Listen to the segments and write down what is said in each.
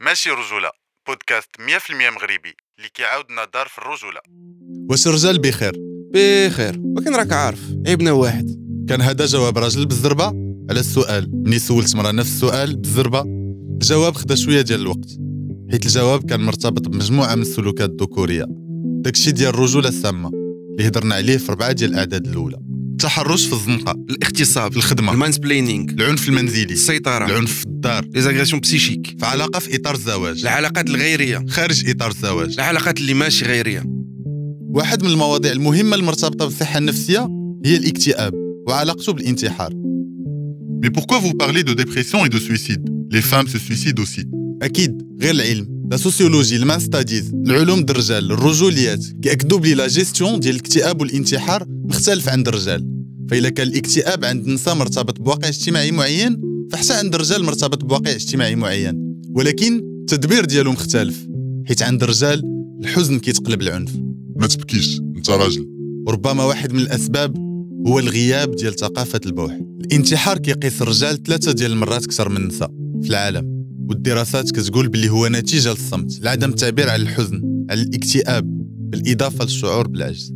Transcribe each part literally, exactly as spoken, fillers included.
ماشي رجولة، بودكاست مية بالمية مغربي اللي كيعاودنا دار في الرجولة. واش الرجال بخير؟ بخير، ولكن راك عارف عيبنا واحد. كان هذا جواب راجل بالزربة على السؤال. مني سولت مرة نفس السؤال بالزربة، الجواب خدا شوية ديال الوقت، حيت الجواب كان مرتبط بمجموعة من السلوكات الذكورية، داكشي ديال الرجولة السامة اللي هضرنا عليه في ربعة ديال الأعداد الأولى. التحرش في الزنقة، الاغتصاب، الخدمة، المانسبلينينغ، العنف المنزلي، السيطرة، العنف في الدار، ليزاغريسيون بسيشيك، في علاقة في إطار الزواج، العلاقات الغيرية خارج إطار الزواج، العلاقات اللي ماشي غيرية. واحد من المواضيع المهمة المرتبطة بالصحة النفسية هي الاكتئاب وعلاقته بالانتحار. Mais pourquoi vous parlez de dépression et de suicide? Les femmes se suicident aussi. أكيد غير العلم، لا سوسيولوجي، المان ستاديز، العلوم د الرجال، الرجوليات كيأكدوا بلي لا جيستيون ديال الاكتئاب والانتحار مختلف عند الرجال. فإلا كان الاكتئاب عند النساء مرتبط بواقع اجتماعي معين، فحتى عند الرجال مرتبط بواقع اجتماعي معين، ولكن التدبير ديالو مختلف، حيت عند الرجال الحزن كيتقلب العنف. ما تبكيش، انت راجل. وربما واحد من الأسباب هو الغياب ديال ثقافة البوح. الانتحار كيقيس الرجال ثلاثة ديال المرات أكثر من النساء في العالم، والدراسات كتقول بلي هو نتيجة للصمت، لعدم التعبير على الحزن، على الاكتئاب، بالإضافة للشعور بالعجز.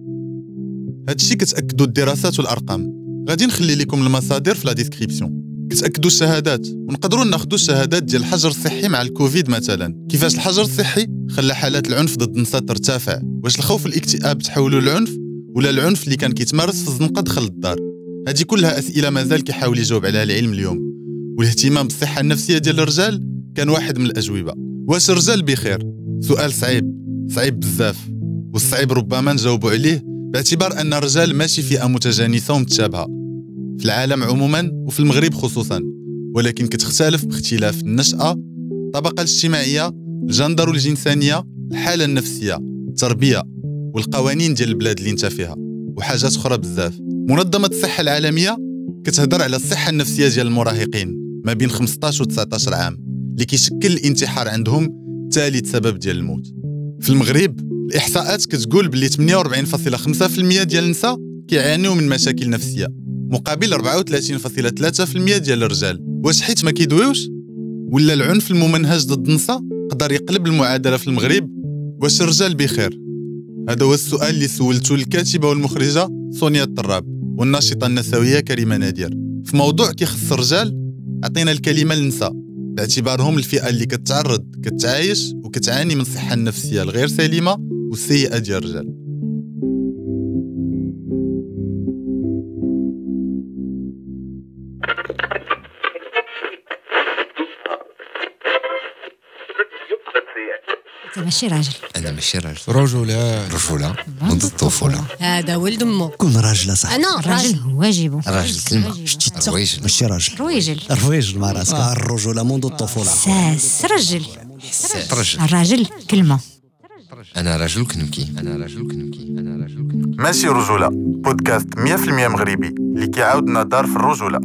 هادشي كتأكدوا الدراسات والأرقام. غادي نخلي لكم المصادر في لا ديسكريبسيون. كتأكدوا الشهادات، ونقدروا ناخذوا الشهادات ديال الحجر الصحي مع الكوفيد مثلا، كيفاش الحجر الصحي خلى حالات العنف ضد النساء ترتفع. واش الخوف والاكتئاب تحولوا للعنف، ولا العنف اللي كان كيتمارس في الزنقة دخل الدار؟ هذه كلها أسئلة مازال كيحاول يجاوب عليها العلم اليوم، والاهتمام بالصحة النفسية ديال الرجال كان واحد من الأجوبة. واش الرجال بخير؟ سؤال صعيب، صعيب بزاف، والصعيب ربما نجاوبوا عليه باعتبار أن الرجال ماشي فئة متجانسة ومتشابهة في العالم عموما وفي المغرب خصوصا، ولكن كتختلف باختلاف النشأة، الطبقة الاجتماعية، الجندر والجنسانية، الحالة النفسية، التربية، والقوانين ديال البلاد اللي انت فيها، وحاجات أخرى بزاف. منظمة الصحة العالمية كتهضر على الصحة النفسية ديال المراهقين ما بين خمسطاش و تسعطاش عام، اللي كيشكل الانتحار عندهم ثالث سبب ديال الموت. في المغرب الإحصاءات كتقول بلي ثمانية وأربعين فاصلة خمسة بالمئة ديال النساء كيعانيو من مشاكل نفسية، مقابل أربعة وثلاثين فاصلة ثلاثة بالمئة ديال الرجال. واش حيت ما كيدويوش، ولا العنف الممنهج ضد النساء قدر يقلب المعادلة في المغرب؟ واش الرجال بخير؟ هذا هو السؤال اللي سولته الكاتبة والمخرجة سونيا الطراب والناشطة النسوية كريمة نادير في موضوع كيخص الرجال. عطينا الكلمة للنساء باعتبارهم الفئة اللي كتعرض كتعايش وكتعاني من الصحة النفسية الغير سليمة والسيئة ديال الرجال. انت ماشي راجل. انا ماشي راجل. رجولة رجولة منذ الطفولة. هذا ولد امه. كون راجل صح. انا الراجل هو واجبه. راجل كلمة. شتي رويجل. ماشي راجل. رويجل. رويجل مع راسك. الرجولة منذ الطفولة. ساس رجل. رجل. الراجل كلمة. انا رجل كنبكي. انا رجل كنبكي. انا رجل كنبكي. ماشي رجولة، بودكاست مية بالمية مغربي اللي كيعاودنا دار في الرجولة.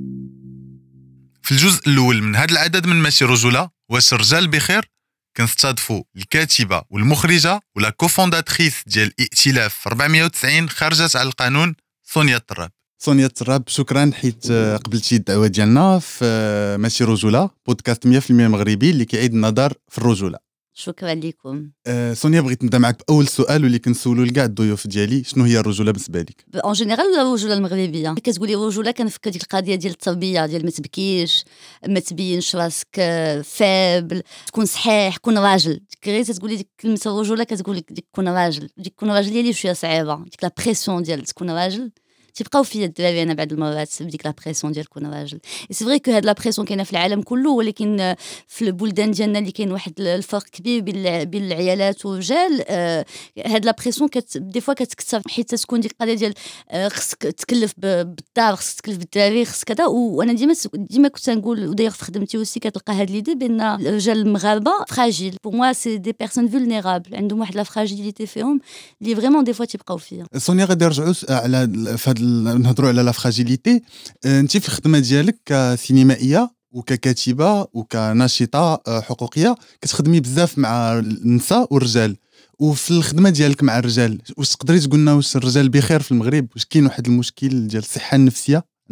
في الجزء الأول من هذا العدد من ماشي رجولة، واش الرجال بخير، كنستضيفوا الكاتبة والمخرجة ولا كوفونداتريس ديال ائتلاف أربعمية وتسعين خرجت على القانون، سونيا الطراب. سونيا الطراب، شكرا حيت قبلتي الدعوة ديالنا في ماشي رجولة، بودكاست مية بالمية مغربي اللي كيعيد النظر في الرجولة. شكرا لكم. أه سونيا، بغيت نبدا معك باول سؤال واللي كنسولو لكاع الضيوف ديالي، شنو هي الرجوله بالنسبه لك؟ اون جينيرال الرجوله المغربيه كتقولي رجوله، كنفكر ديك القضيه ديال التربيه، ديال ما تبكيش، ما تبينش راسك فابل، تكون صحيح، كون راجل. غير تقولي ديك كلمه الرجوله كتقول لك ديك كون راجل، ديك كون راجل هي اللي شويه صعيبه، ديك لا بريسيون ديال تكون راجل. تيبقاو فيا الدراري انا بعض المرات بديك لا بريسيون ديال كون راجل. سي فري كو هاد لا بريسيون كاينه في العالم كله، ولكن في البلدان ديالنا اللي كاين واحد الفرق كبير بين بين العيالات والرجال. آه هاد لا بريسيون كت دي فوا كتكثر، حيت تكون ديك القضيه ديال آه خصك تكلف بالدار، خصك تكلف بالدراري، خصك كذا. وانا ديما ديما كنت نقول، وداير في خدمتي وسي كتلقى هاد ليدي بان الرجال المغاربه فراجيل. بور موا سي دي بيرسون فولنيرابل، عندهم واحد لا فراجيليتي فيهم اللي فريمون دي فوا تيبقاو فيها. سونيا، غادي نرجعوا على فهاد نهضروا على لا فراجيليتي. انت في الخدمه ديالك كسينمائيه وككاتبه وكناشطه حقوقيه كتخدمي بزاف مع النساء والرجال، وفي الخدمه ديالك مع الرجال واش تقدري تقول لنا واش الرجال بخير في المغرب؟ واش كاين واحد المشكل ديال الصحه النفسيه عند الرجال؟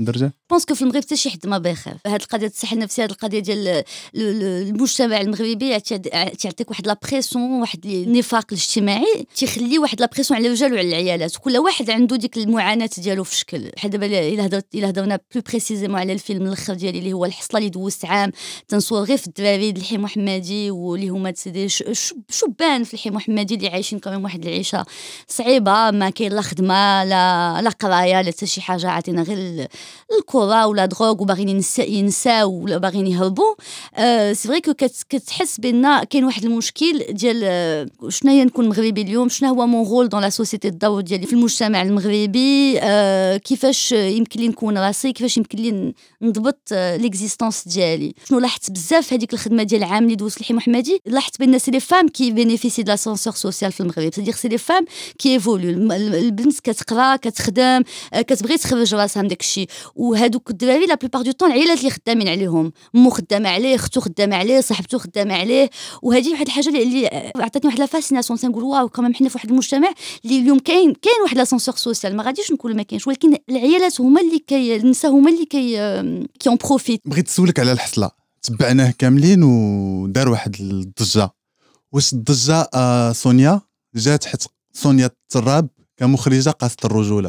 بونسكو في المغرب حتى شي حد ما بيخاف. هاد القضيه الصحه النفسيه، هاد القضيه ديال المجتمع المغربي تعطيك واحد لا بريسيون، واحد النفاق الاجتماعي تيخلي واحد لا بريسيون على الرجال وعلى العيالات. كل واحد عنده ديك المعاناه ديالو في شكل. بحال دابا الا هضرت الا هضرنا بلو بريسيزيمون على الفيلم الاخر ديالي اللي هو الحصله اللي دوزت عام، تنصور غير في الدراري د الحي محمدي واللي هما سيدي شبان في الحي محمدي اللي عايشين كمان واحد العيشه صعيبه، ما كاين لا خدمه لا لا قرايه لا حتى شي حاجه، عاطينا غير الكره ولا دروغ وباغيين ينساو ولا باغيين يهربوا. أه سي فري كو كتحس بان كاين واحد المشكل ديال شنو هي نكون مغربي اليوم، شنو هو مون رول دون لا سوسيتي، الدور ديالي في المجتمع المغربي، أه كيفاش يمكن لي نكون راسي، كيفاش يمكن لي نضبط ليكزيستونس ديالي. شنو لاحظت بزاف هذيك الخدمه ديال العام اللي دوزت الحي محمدي، لاحظت بان سي لي فام كي بينيفيسي د لاسانسور سوسيال في المغرب، سي دير سي لي فام كي ايفولو. البنت كتقرا كتخدم كتبغي تخرج راسها من داكشي، وهادوك الدراري لا بلوبار دو طون العائلات اللي خدامين عليهم، مو خدامه عليه، اختو خدامه عليه، صاحبته خدامه عليه. وهذه واحد الحاجه اللي عطاتني واحد لا فاسيناسيون، تنقول واو كمان حنا في واحد المجتمع اللي اليوم كاين كاين واحد لاسانسور سوسيال، ما غاديش نقول ما كاينش، ولكن العيالات هما اللي كي النساء هما اللي كي كي اون بروفيت. بغيت نسولك على الحصله، تبعناه كاملين ودار واحد الضجه. واش الضجه آه سونيا جات حيت سونيا التراب كمخرجه قاصه الرجوله؟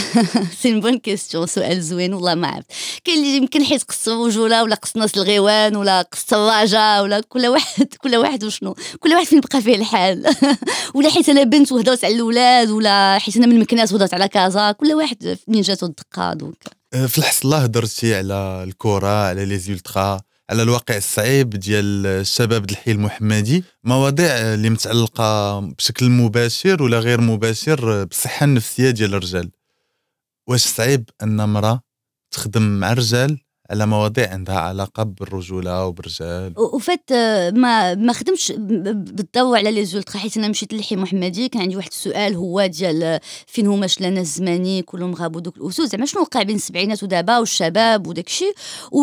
سي بون كيستيون، سؤال زوين والله ما عرفت. كاين اللي يمكن حيت قص الرجوله ولا قص ناس الغيوان ولا قص الراجا ولا كل واحد كل واحد وشنو كل واحد فين بقى فيه الحال ولا حيت انا بنت وهضرت على الاولاد ولا حيت انا من مكناس وهضرت على كازا، كل واحد منين جاتو الدقه. دونك في الحصله هضرتي على الكره، على لي زولترا، على الواقع الصعيب ديال الشباب د الحي المحمدي، مواضيع اللي متعلقه بشكل مباشر ولا غير مباشر بالصحه النفسيه ديال الرجال. واش صعيب ان امراه تخدم مع الرجال على مواضيع عندها علاقه بالرجوله وبالرجال؟ وفات ما ما خدمتش بالضوء على لي زولترا، حيت انا مشيت للحي محمدي كان عندي واحد السؤال هو ديال فين هما شلانا الزماني كلهم غابوا دوك الاسود، زعما شنو وقع بين السبعينات ودابا والشباب وداكشي.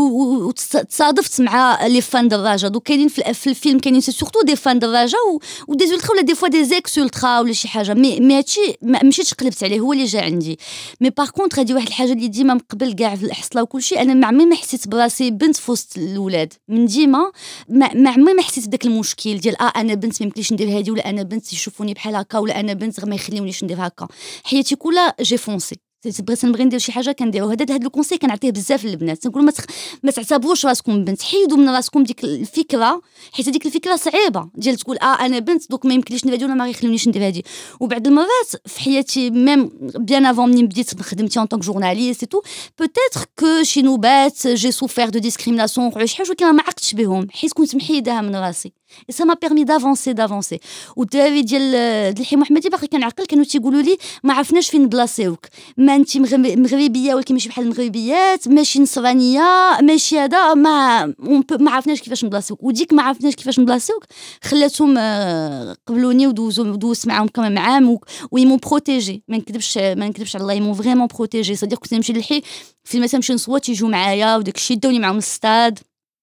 وتصادفت مع لي فان دراجه، دوك كاينين في الفيلم كاينين سورتو دي فان دراجه ودي زولترا ولا دي فوا دي زيكس زولترا ولا شي حاجه، مي مي هادشي مشيتش قلبت عليه، هو اللي جا عندي. مي باغ كونطخ هادي واحد الحاجه اللي ديما من قبل كاع في الحصله وكلشي، انا ما عمري حسيت براسي بنت في وسط الاولاد، من ديما ما عمري ما حسيت بداك المشكل ديال اه انا بنت ما يمكنليش ندير هادي، ولا انا بنت يشوفوني بحال هكا، ولا انا بنت غير ما يخليونيش ندير هكا. حياتي كلها جي فونسي، بغيت نبغي ندير شي حاجه كنديرها. هذا هذا الكونسي كنعطيه بزاف للبنات، نقول ما تخ... ما تعتبروش راسكم بنت، حيدوا من راسكم ديك الفكره، حيت هذيك الفكره صعيبه ديال تقول اه انا بنت دوك ما يمكنليش ندير هادي ولا ما غيخليونيش ندير هادي. وبعض المرات في حياتي ميم بيان افون منين بديت خدمتي اون طونك جورناليست اي تو، بوتيتر كو شي نوبات جي سوفير دو ديسكريميناسيون وقعوا شي حاجه ولكن ما عقدتش بهم حيت كنت محيداها من راسي. et ça m'a permis d'avancer d'avancer. والدراري ديال الحي محمدي باقي كنعقل كانوا تيقولوا لي ما عرفناش فين بلاصيوك، ما انت مغربيه ولكن ماشي بحال المغربيات، ماشي نصرانيه، ماشي هذا، ما ما عرفناش كيفاش نبلاصيوك. وديك ما عرفناش كيفاش نبلاصيوك خلاتهم قبلوني ودوزوا دوزت معاهم كمان عام ويمون بروتيجي. ما نكذبش ما نكذبش على الله، يمون فريمون بروتيجي. صديق كنت نمشي للحي في مثلا نمشي نصوت يجوا معايا وداك الشيء داوني معاهم الستاد.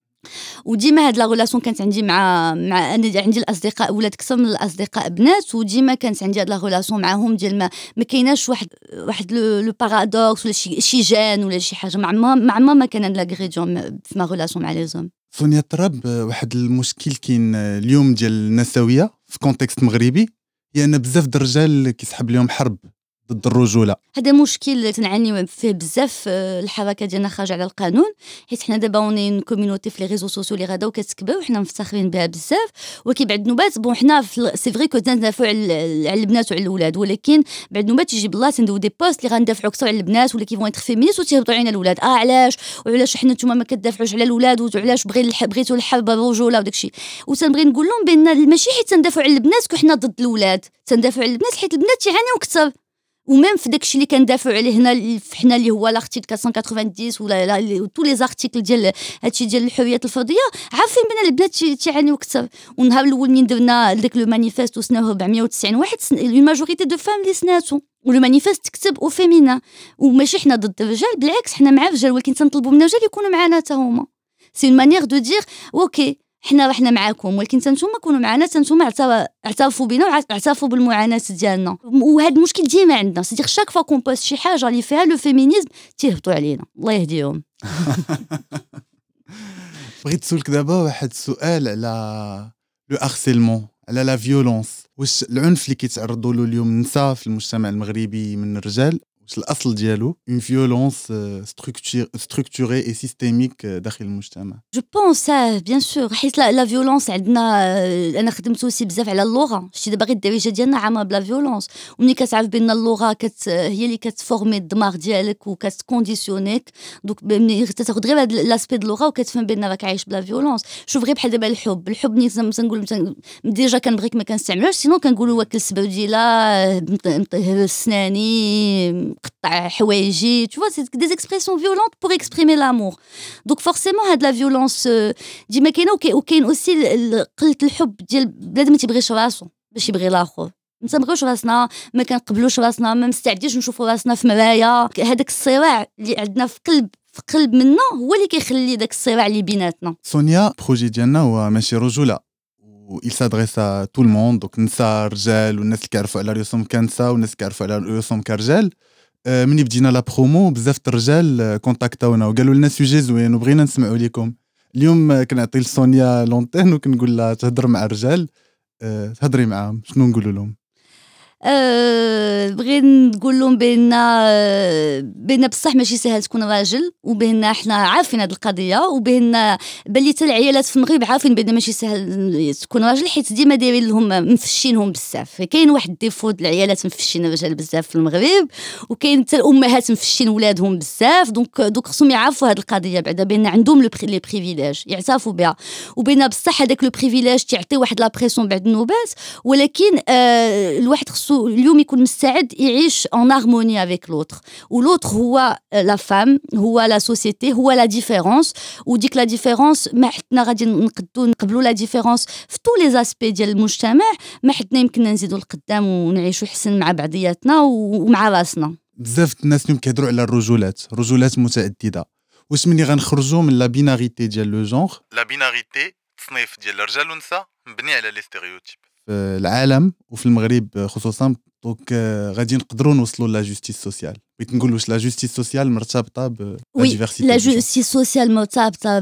وديما هاد لا ريلاسيون كانت عندي مع مع انا عندي الاصدقاء ولاد اكثر من الاصدقاء بنات، وديما كانت عندي هاد لا ريلاسيون معاهم ديال ما, ما كايناش واحد واحد لو بارادوكس ولا شي شي جان ولا شي حاجه. مع ما مع ما ما كان هاد لاغريديون في ما ريلاسيون مع لي زوم. سونيا التراب، واحد المشكل كاين اليوم ديال النسويه في كونتكست مغربي هي ان بزاف د الرجال كيسحب لهم حرب ضد الرجوله. هذا مشكل تنعاني فيه بزاف الحركه ديالنا خارج على القانون، حيت حنا دابا اوني كوميونيتي في لي ريزو سوسيو اللي غدا وكتكبر وحنا مفتخرين بها بزاف. ولكن بعد نوبات بون حنا سي فري كو تندافعوا على البنات وعلى الاولاد، ولكن بعد نوبات يجيب الله تندوي دي بوست اللي غندافعوا اكثر على البنات ولا كيفون يتر فيمينيست وتيهبطوا علينا الاولاد. اه علاش وعلاش حنا نتوما ما كتدافعوش على الاولاد وعلاش بغي بغيتوا الحرب الرجوله وداكشي. وتنبغي نقول لهم بان ماشي حيت تندافعوا على البنات كو حنا ضد الاولاد، تندافعوا على البنات حيت البنات تيعانيو اكثر. وميم في داكشي اللي كندافعوا عليه هنا حنا اللي هو لارتيكل أربعمية وثمانين ولا تو لي زارتيكل ديال هادشي ديال الحريات الفرديه، عارفين بان البنات تيعانيو اكثر. والنهار الاول من درنا داك لو مانيفيست وسناوه أربعمية وتسعين واحد، اون ماجوريتي دو فام اللي سناتو، ولو مانيفيست تكتب او فيمينا. وماشي حنا ضد الرجال، بالعكس حنا مع الرجال، ولكن تنطلبوا من الرجال يكونوا معنا حتى هما. سي اون مانيير دو دير اوكي حنا حنا معاكم، ولكن نتوما كونوا معنا، نتوما اعترفوا بينا واعترفوا بالمعاناه ديالنا. وهذا المشكل ديما عندنا، سيدير شاك فوا كون بوست شي حاجه اللي فيها لو فيمينيزم تيهبطوا علينا، الله يهديهم. بغيت نسولك دابا واحد السؤال على لو هارسيلمون، على لا فيولونس. واش العنف اللي كيتعرضوا له اليوم النساء في المجتمع المغربي من الرجال واش الاصل ديالو اون فيولونس ستركتوري اي سيستيميك داخل المجتمع؟ جو بونس اه بيان سور، حيت لا فيولونس عندنا. انا خدمت اوسي بزاف على اللغه، شتي دابا غير الدارجه ديالنا عامه بلا فيولونس، وملي كتعرف بان اللغه كت هي اللي كتفورمي الدماغ ديالك وكتكونديسيونيك، دوك ملي تاخذ غير هاد لاسبي د اللغه وكتفهم بان راك عايش بلا فيولونس. شوف غير بحال دابا الحب، الحب ملي تنقول ديجا كنبغيك ما كنستعملوش، سينو كنقولوا واكل السبوديله سناني قطع حوايجي، tu vois c'est des expressions violentes pour exprimer l'amour. donc forcément هاد لا فيولونس ديما كاينه، وكاين اوسي قله الحب ديال بنادم ما تيبغيش راسو باش يبغي الاخر. ما تنبغيوش راسنا، ما كنقبلوش راسنا، ما مستعديش نشوفوا راسنا في مرايا. هذاك الصراع اللي عندنا في قلب في قلب منا هو اللي كيخلي داك الصراع اللي بيناتنا. سونيا بروجي ديالنا هو ماشي رجوله، و il s'adresse à tout le monde، دونك نساء رجال، والناس اللي كيعرفوا على رؤوسهم كنساء والناس اللي كيعرفوا على رؤوسهم كرجال. مني بدينا لا برومو بزاف الرجال كونتاكتاونا وقالوا لنا سوجي زوين وبغينا نسمعوا لكم. اليوم كنعطي لسونيا لونتين وكنقول لها تهضر مع الرجال، تهضري معاهم، شنو نقولوا لهم؟ أه بغيت نقول لهم بان بان بصح ماشي سهل تكون راجل، وبان حنا عارفين هذه القضيه، وبان بلي حتى العيالات في المغرب عارفين بان ماشي سهل تكون راجل، حيت ديما دايرين لهم مفشينهم بزاف. كاين واحد الديفو د العيالات مفشين الرجال بزاف في المغرب، وكاين حتى الامهات مفشين ولادهم بزاف. دونك دوك خصهم يعرفوا هذه القضيه بعدا بان عندهم لي بريفيليج يعترفوا بها، وبان بصح هذاك لو بريفيليج تيعطي واحد لا بريسيون بعد النوبات، ولكن أه الواحد خصو اليوم يكون مستعد يعيش en harmonie avec l'autre، والautre هو la femme، هو la société، هو la différence. وديك la différence ما حدنا غادي نقدو نقبلوا la différence في tous les aspects ديال المجتمع، ما حدنا يمكننا نزيدوا لقدام ونعيشوا حسن مع بعضياتنا ومع راسنا. بزاف الناس اليوم كيهضروا على الرجولات، رجولات متعدده. واش مني غنخرجوا من لا بيناريتي ديال لو جونغ؟ لا بيناريتي تصنيف ديال الرجال والنساء مبني على لي ستيريوتيب في العالم وفي المغرب خصوصا. دونك غادي نقدروا نوصلوا لا جوستيس سوسيال. بغيت نقول واش لا جوستيس سوسيال مرتبطه ب ديفيرسيتي؟ لا جوستيس سوسيال مرتبطه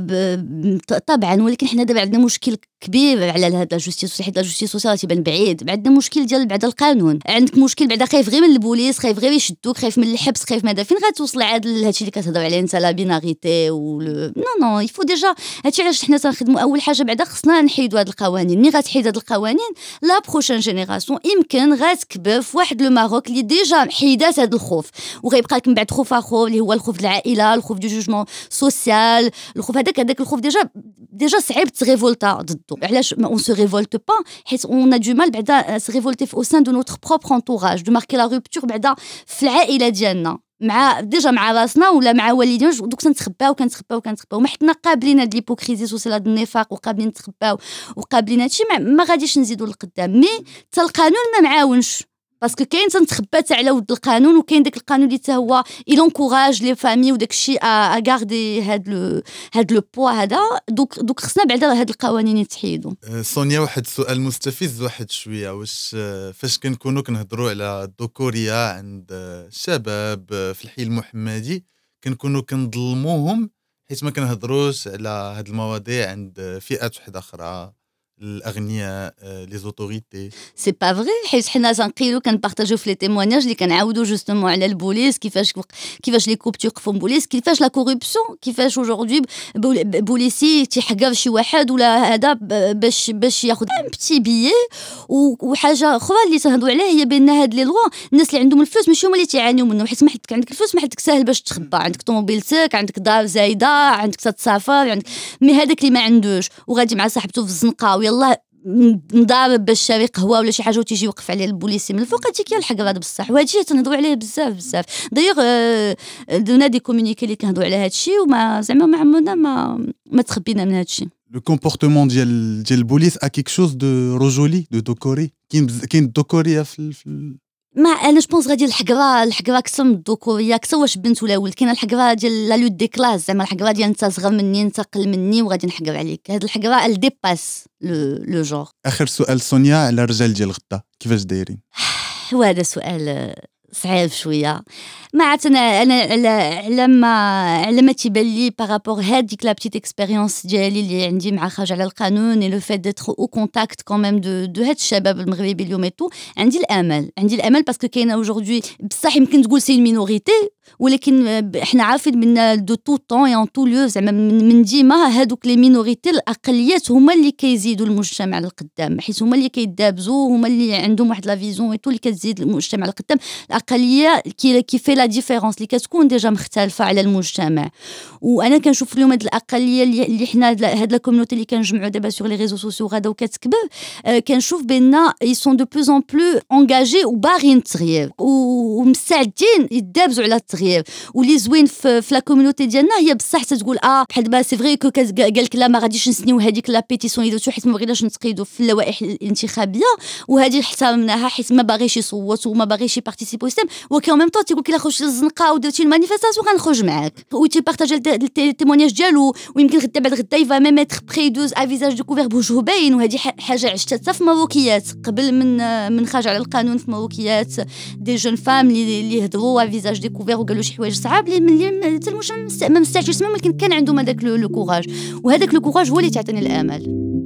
طبعا، ولكن حنا دابا عندنا مشكل كبير على هاد لا جوستيس سوسيال، حيت لا جوستيس سوسيال تيبان بعيد. عندنا مشكل ديال بعد القانون، عندك مشكل بعدا خايف غير من البوليس، خايف غير يشدوك، خايف من الحبس، خايف من هذا. فين غتوصل عاد لهادشي اللي كتهضر عليه انت لا بيناريتي و نو نو يفو ديجا. هادشي علاش حنا تنخدموا اول حاجه بعدا خصنا نحيدوا هاد القوانين. ملي غتحيد هاد القوانين لا بروشين جينيراسيون يمكن غتكبر في واحد لو ماروك اللي ديجا حيدات هاد الخوف، وغيبقى لك من بعد خوف اخر اللي هو الخوف العائله، الخوف دو جوجمون سوسيال، الخوف هذاك هذاك الخوف ديجا ديجا صعيب تريفولتا ضده. علاش on se révolte pas حيت on a du mal بعدا se révolter au sein de notre propre entourage، de marquer la rupture بعدا في العائله ديالنا مع ديجا مع راسنا ولا مع والدينا. دوك تنتخباو كنتخباو كنتخباو ما حنا قابلين هاد ليبوكريزي سوسيال، هاد النفاق، وقابلين نتخباو وقابلين هادشي، ما غاديش نزيدوا لقدام. مي حتى القانون ما معاونش، باسكو كاين تنتخبى تاع على ود القانون، وكاين داك القانون اللي حتى هو يلونكوراج لي فامي وداك الشيء ا غاردي هاد لو هاد لو بوا هذا. دوك دوك خصنا بعدا هاد القوانين يتحيدوا. سونيا واحد السؤال مستفز واحد شويه، واش فاش كنكونوا كنهضروا على الذكوريه عند الشباب في الحي المحمدي كنكونوا كنظلموهم حيت ما كنهضروش على هاد المواضيع عند فئات وحده اخرى، الاغنياء، لي زوتوريتي؟ سي با فري، حيت حنا تنقيلو كنبارطاجيو في لي تيموانياج اللي كنعاودو جوستومون على البوليس، كيفاش كيفاش لي كوب تيوقفوا بوليس، كيفاش لا كوربسيون، كيفاش اوجوردي بوليسي تيحقر شي واحد ولا هذا باش باش ياخذ ان بتي بيي. وحاجه اخرى اللي تنهضوا عليها هي بان هاد لي لوا الناس اللي عندهم الفلوس ماشي هما اللي تيعانيو منه، حيت ما حدك عندك الفلوس ما حدك ساهل باش تخبى، عندك طوموبيلتك، عندك دار زايده، عندك تتسافر، عندك مي هذاك اللي ما عندوش وغادي مع صاحبته في الزنقه يلا نضارب باش شاري قهوه ولا شي حاجه وتيجي يوقف عليه البوليسي من الفوق، هذيك هي الحق هذا بصح. وهادشي تنهضوا عليه بزاف بزاف. دايوغ دونا دي كومونيكي اللي كنهضوا على هادشي وما زعما ما عمرنا ما ما تخبينا من هادشي. لو كومبورتمون ديال ديال البوليس ا كيك شوز دو رجولي دو دوكوري. كاين كاين الدوكوريه في ما انا جو بونس غادي الحقره الحقره اكثر من الذكوريه اكثر واش بنت ولا ولد. كاينه الحقره ديال لا لوت دي كلاس زعما الحقره ديال انت صغر مني انت قل مني وغادي نحقر عليك. هاد الحقره ال ديباس لو لو جور. اخر سؤال سونيا على الرجال ديال غدا كيفاش دايرين؟ وهذا سؤال صعيب شويه. ما عرفت انا انا على على ما على ما تيبان لي بارابور هذيك لا بتيت اكسبيريونس ديالي اللي عندي مع خرج على القانون اي لو فيت ديتر او كونتاكت كوميم دو دو هاد الشباب المغربي اليوم ايتو. عندي الامل عندي الامل باسكو كاينه اوجوردي بصح يمكن تقول سي مينوريتي ولكن احنا عارفين من دو تو طون اي ان تو ليو زعما من ديما هادوك لي مينوريتي الاقليات هما اللي كيزيدوا المجتمع للقدام حيت هما اللي كيدابزوا هما اللي عندهم واحد لا فيزيون ايتو اللي كتزيد المجتمع للقدام. الاقليه كي كيفي لا ديفيرونس اللي كتكون ديجا مختلفه على المجتمع. وانا كنشوف اليوم هاد الاقليه اللي حنا هاد لا كوميونيتي اللي كنجمعوا دابا سور لي ريزو سوسيو غادا وكتكبر أه كنشوف بان اي سون دو بلوز ان بلو انغاجي وباغيين التغيير ومستعدين يدابزوا على التغيير. واللي زوين في, في لا كوميونيتي ديالنا هي بصح تقول اه بحال دابا سي فري كو قال لك لا ما غاديش نسنيو هذيك لا بيتيسيون يدوتو حيت ما بغيناش نتقيدوا في اللوائح الانتخابيه وهذه احترمناها حيت ما باغيش يصوت وما باغيش يبارتيسيبو سيستم. وكان ميم طون تيقول لك الا خرجتي للزنقه ودرتي المانيفيستاسيون غنخرج معاك وتي بارطاجي التيمونياج ديالو ويمكن غدا بعد غدا يفا ميم اتر بري دوز ا فيزاج دو كوفير بوجهو باين. وهذه حاجه عشتها حتى في مروكيات قبل من من خرج على القانون في مروكيات دي جون فام اللي يهضروا ا فيزاج دي كوفير وقالوا شي حوايج صعاب اللي حتى المجتمع ما مستعجلش يسمعوا ولكن كان عندهم هذاك لو كوراج وهذاك لو كوراج هو اللي تعطيني الامل.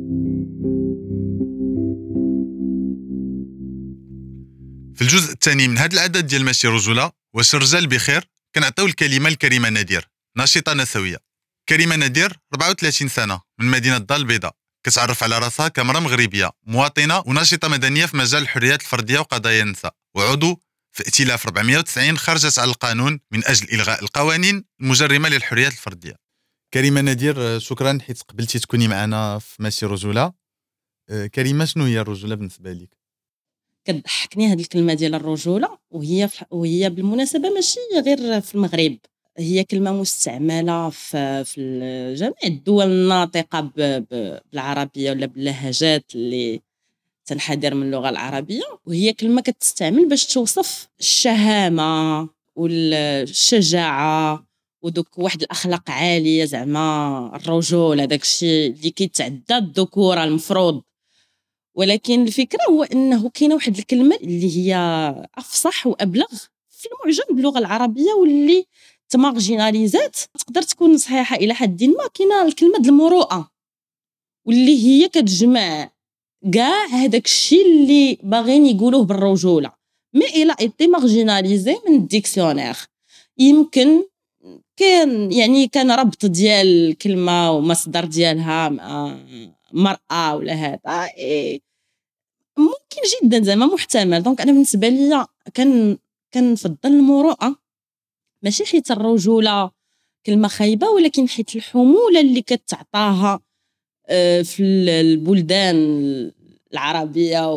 في الجزء الثاني من هذا العدد ديال ماشي رجوله واش الرجال بخير كنعطيو الكلمه لكريمه نادير ناشطه نسويه. كريمه نادير أربعة وثلاثين سنه من مدينه الدار البيضاء كتعرف على راسها كامراه مغربيه مواطنه وناشطه مدنيه في مجال الحريات الفرديه وقضايا النساء وعضو في ائتلاف أربعمائة وتسعين خرجت على القانون من اجل الغاء القوانين المجرمه للحريات الفرديه. كريمه نادير شكرا حيت قبلتي تكوني معنا في ماشي رجوله. كريمه شنو هي الرجوله بالنسبه لك؟ كتضحكني هذه الكلمه ديال الرجوله وهي وهي بالمناسبه ماشي غير في المغرب هي كلمه مستعمله في في جميع الدول الناطقه بالعربيه ولا باللهجات اللي تنحدر من اللغه العربيه وهي كلمه كتستعمل باش توصف الشهامه والشجاعه ودوك واحد الاخلاق عاليه زعما الرجول هذاك الشيء اللي كيتعدى الذكوره المفروض. ولكن الفكره هو انه كاينه واحد الكلمه اللي هي افصح وابلغ في المعجم باللغه العربيه واللي تمارجيناليزات تقدر تكون صحيحه الى حد ما. كاينه الكلمه ديال المروءه واللي هي كتجمع كاع هذاك الشيء اللي باغيين يقولوه بالرجوله مي الى ايتي مارجيناليزي من الديكسيونير. يمكن كان يعني كان ربط ديال الكلمه ومصدر ديالها مع مرأة ولا هذا إيه ممكن جدا زعما محتمل. دونك انا بالنسبه لي كان كنفضل المروءه ماشي حيت الرجوله كلمه خايبه ولكن حيت الحموله اللي كتعطاها في البلدان العربيه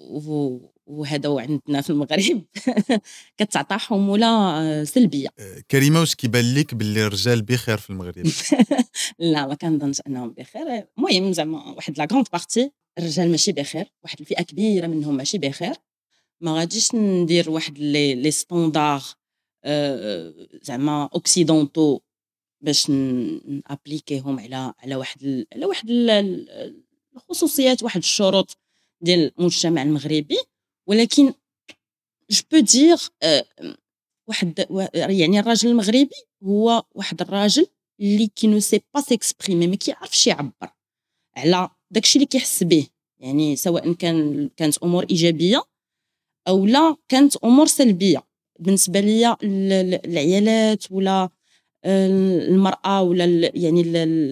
وهذا وعندنا في المغرب كتعطى حموله سلبيه. كريمه واش كيبان لك باللي الرجال بخير في المغرب؟ لا ما كنظنش انهم بخير. المهم زعما واحد لا غروند بارتي الرجال ماشي بخير واحد الفئه كبيره منهم ماشي بخير. ما غاديش ندير واحد لي لي ستاندار زعما اوكسيدونتو باش نابليكيهم على على واحد على واحد الخصوصيات واحد الشروط ديال المجتمع المغربي. ولكن جو بو دير واحد يعني الراجل المغربي هو واحد الراجل اللي كي نو سي با سيكسبريمي ما كيعرفش يعبر على داكشي اللي كيحس به يعني سواء كان كانت امور ايجابيه او لا كانت امور سلبيه. بالنسبه ليا العيالات ولا المراه ولا يعني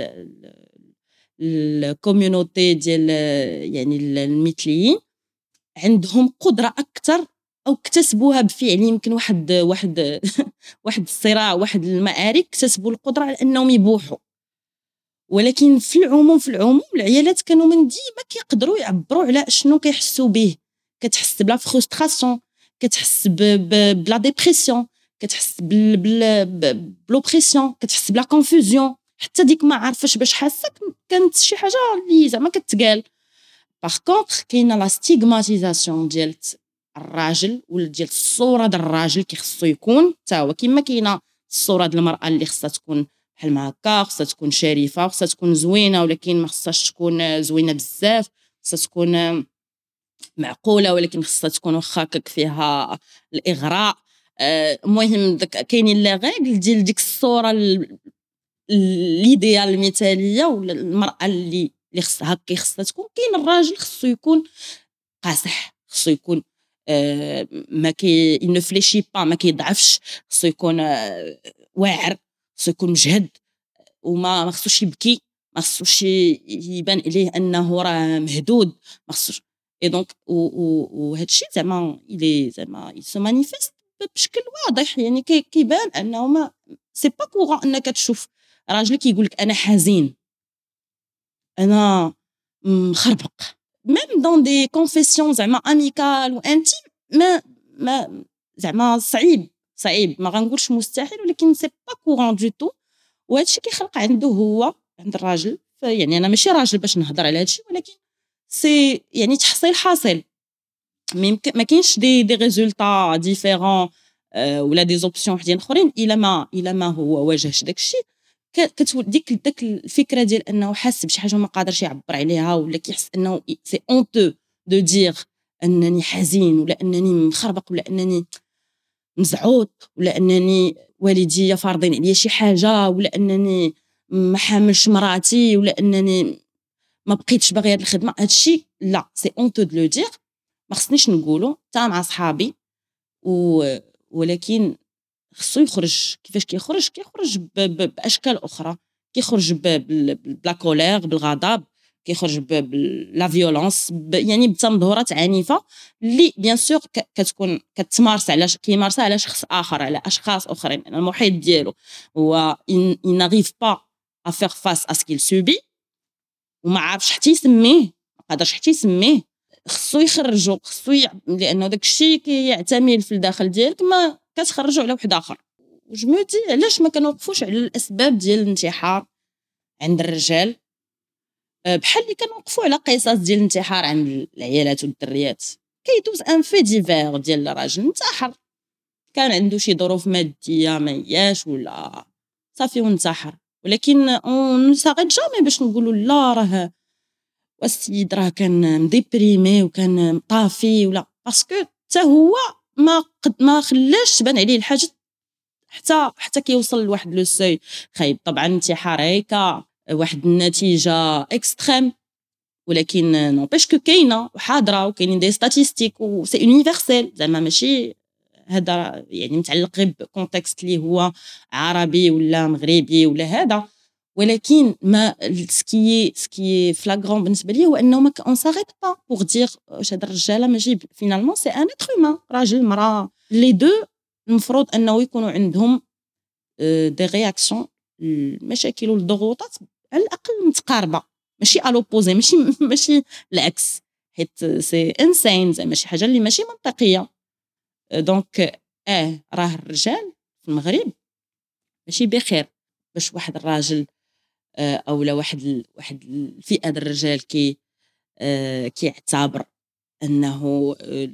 الكوميونيتي ديال يعني المثليين عندهم قدره اكثر او اكتسبوها بفعل. يمكن واحد واحد واحد الصراع واحد المعارك اكتسبوا القدره على انهم يبوحوا. ولكن في العموم في العموم العيالات كانوا من ديما كيقدروا يعبروا على شنو كيحسوا به. كتحس بلا فرستراسيون كتحس بلا ديبرسيون كتحس بلوبريسيون كتحس بلا كونفوزيون حتى ديك ما عارفاش باش حاسه كانت شي حاجه اللي زعما كتقال. باغ كونطخ كاينه لا ستيغماتيزاسيون ديال الراجل ولا ديال الصوره ديال الراجل كيخصو يكون حتى هو كما كاينه الصوره ديال المراه اللي خصها تكون بحال ما هكا، خصها تكون شريفه، خصها تكون زوينه ولكن ما خصهاش تكون زوينه بزاف، خصها تكون معقوله ولكن خصها تكون واخا هكاك فيها الاغراء. المهم داك كاينين لا غيغل ديال ديك الصوره ليديال المثاليه ولا المراه اللي اللي خصها هكا خصها تكون. كاين الراجل خصو يكون قاصح، خصو يكون آه ما كي ينفليشي با، ما كيضعفش، خصو يكون آه واعر، خصو يكون مجهد وما ما خصوش يبكي، ما خصوش يبان عليه انه راه مهدود، ما خصوش اي دونك وهذا الشيء زعما الي زعما يسو مانيفيست بشكل واضح. يعني كيبان انه ما سي با كورون انك تشوف راجل كيقول لك انا حزين، انا مخربق، ميم دون دي كونفيسيون زعما اميكال وانتيم، ما ما زعما صعيب صعيب ما غنقولش مستحيل ولكن سي با كورون دو تو. وهذا الشيء كيخلق عنده هو عند الراجل، يعني انا ماشي راجل باش نهضر على هذا الشيء ولكن سي يعني تحصيل حاصل. ما كاينش دي دي ريزولطا ديفيرون أه ولا دي زوبسيون وحدين اخرين الا ما الا ما هو واجهش داك الشيء. كتولي ديك داك الفكره ديال انه حاس بشي حاجه ما قادرش يعبر عليها ولا كيحس انه سي اونتو دو دير انني حزين ولا انني مخربق ولا انني مزعوط ولا انني والديا فارضين عليا شي حاجه ولا انني ما حاملش مراتي ولا انني ما بقيتش باغي هاد الخدمه. هادشي لا سي اونتو دو لو دير، ما خصنيش نقولو حتى مع صحابي و ولكن خصو يخرج. كيفاش كيخرج؟ كيخرج باشكال اخرى، كيخرج بلا كولير بالغضب، كيخرج بلا فيولونس، يعني بتمظهرات عنيفه اللي بيان سور كتكون كتمارس على كيمارسها على شخص اخر، على اشخاص اخرين، المحيط ديالو هو il n'arrive pas à faire face à ce qu'il subit وما عارفش حتى يسميه، ما قادرش حتى يسميه، خصو يخرجو، خصو ي... لانه داك الشيء كيعتمل في الداخل ديالك ما كتخرجوا على واحد اخر. وجمعتي علاش ما كنوقفوش على الاسباب ديال الانتحار عند الرجال بحال اللي كنوقفوا على قصص ديال الانتحار عند العيالات والدريات. كيدوز ان في ديفير ديال الراجل انتحر، كان عنده شي ظروف ماديه ما هياش ولا صافي وانتحر، ولكن اون ساغيت جامي باش نقولوا لا راه والسيد راه كان مديبريمي وكان مطافي ولا باسكو حتى هو ما قد ما خلاش تبان عليه الحاجه حتى حتى كيوصل لواحد لو سوي خايب. طبعا الانتحار هيك واحد النتيجه اكستريم، ولكن نوبيش كو كاينه وحاضره وكاينين دي ستاتيستيك و سي يونيفرسيل، زعما ماشي هذا يعني متعلق غير بكونتكست اللي هو عربي ولا مغربي ولا هذا. ولكن ما سكي سكي فلاغرون بالنسبه لي هو انه ما اون ساريت با بور دير واش هاد الرجاله ماشي فينالمون سي ان اتر هومان، راجل مراه لي دو المفروض انه يكونوا عندهم دي رياكسيون المشاكل والضغوطات على الاقل متقاربه، ماشي الوبوزي، ماشي ماشي العكس، حيت سي انسان زعما شي حاجه اللي ماشي منطقيه. دونك اه راه الرجال في المغرب ماشي بخير باش واحد الراجل او لا واحد واحد الفئه ديال الرجال كي كيعتبر انه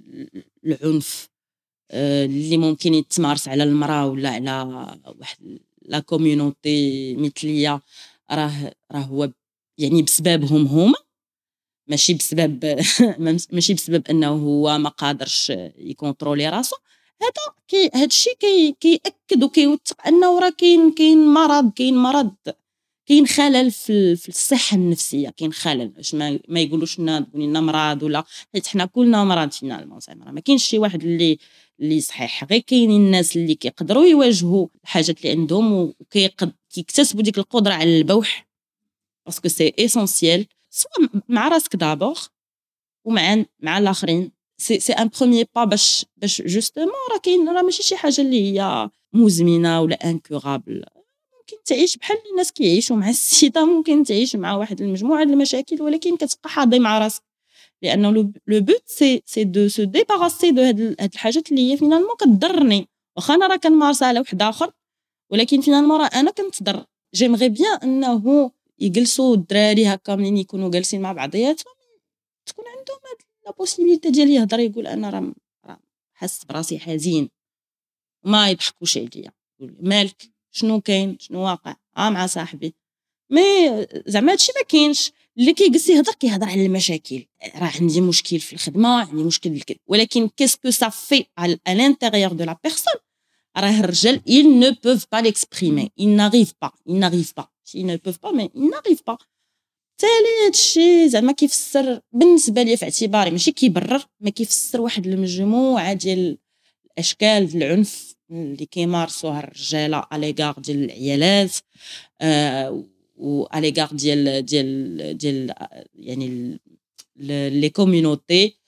العنف اللي ممكن يتمارس على المراه ولا على واحد لا كوميونيتي مثليه راه راه هو يعني بسببهم هما، ماشي بسبب ماشي بسبب انه هو ما قادرش يكونترولي راسو. هذا كي هذا الشيء كي كياكد وكيوثق انه راه كاين كاين مرض كاين مرض كاين خلل في في الصحه النفسيه، كاين خلل باش ما, ما يقولوش لنا تقولي لنا مرض ولا، حيت حنا كلنا مرض فينالمون، زعما ما كاينش شي واحد اللي اللي صحيح، غير كاينين الناس اللي كيقدروا يواجهوا الحاجات اللي عندهم وكيكتسبوا ديك القدره على البوح، باسكو سي اسونسييل سواء مع راسك دابور ومع مع الاخرين. سي سي ان بروميير با باش باش جوستومون راه كاين راه ماشي شي حاجه اللي هي مزمنه ولا انكورابل، ممكن تعيش بحال الناس كيعيشوا مع السيده، ممكن تعيش مع واحد المجموعه ديال المشاكل ولكن كتبقى حاضي مع راسك، لانه لو بوت سي سي دو سو ديباراسي دو هاد هاد الحاجات اللي هي فينالمون كتضرني، واخا انا راه كنمارسها على واحد اخر ولكن فينالمون راه انا كنتضر. جيمغي بيان انه يجلسوا الدراري هكا منين يكونوا جالسين مع بعضياتهم تكون عندهم هاد لا بوسيبيليتي ديال يهضر يقول انا راه حس براسي حزين ما يضحكوش عليا مالك شنو كاين شنو واقع اه مع صاحبي مي زعما هادشي ما كاينش اللي كيجلس يهضر كيهضر على المشاكل راه عندي مشكل في الخدمه عندي مشكل الكل ولكن كيسكو سا في على الانتيريور دو لا بيرسون راه الرجال ils ne peuvent pas l'exprimer ils n'arrivent pas ils n'arrivent pas ils ne peuvent pas mais ils n'arrivent pas تالي هادشي زعما كيفسر بالنسبه لي في اعتباري ماشي كيبرر ما كيفسر واحد المجموعه ديال الاشكال ديال العنف اللي كيمارسوها الرجاله اليغار ديال العيالات آه و اليغار ديال ديال ديال يعني لي كوميونيتي